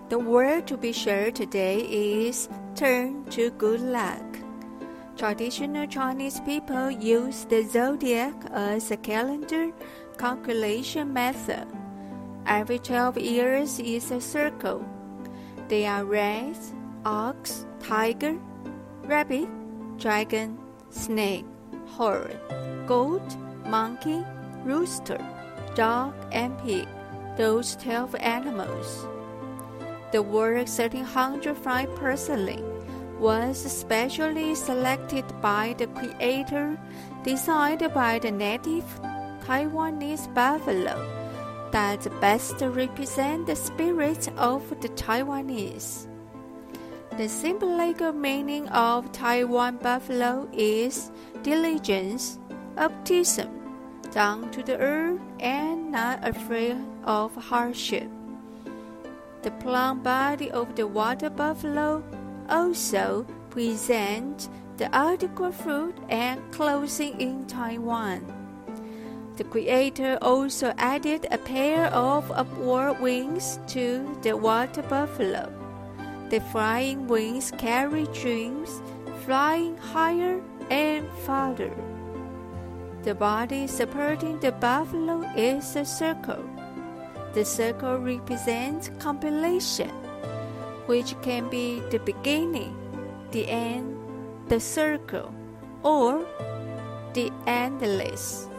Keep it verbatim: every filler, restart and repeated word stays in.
The word to be shared today is turn to good luck. Traditional Chinese people use the zodiac as a calendar calculation method. Every twelve years is a circle. They are rat, ox, tiger, rabbit, dragon, snake, horse, goat, monkey, rooster, dog, and pig, those twelve animals. The word thirteen hundred five porcelain was specially selected by the creator, designed by the native Taiwanese buffalo, that best represent the spirit of the Taiwanese. The symbolic meaning of Taiwan buffalo is diligence, optimism, down to the earth, and not afraid of hardship. The plump body of the water buffalo also presents the article fruit and clothing in Taiwan. The creator also added a pair of upward wings to the water buffalo. The flying wings carry dreams, flying higher and farther. The body supporting the buffalo is a circle. The circle represents compilation, which can be the beginning, the end, the circle, or the endless.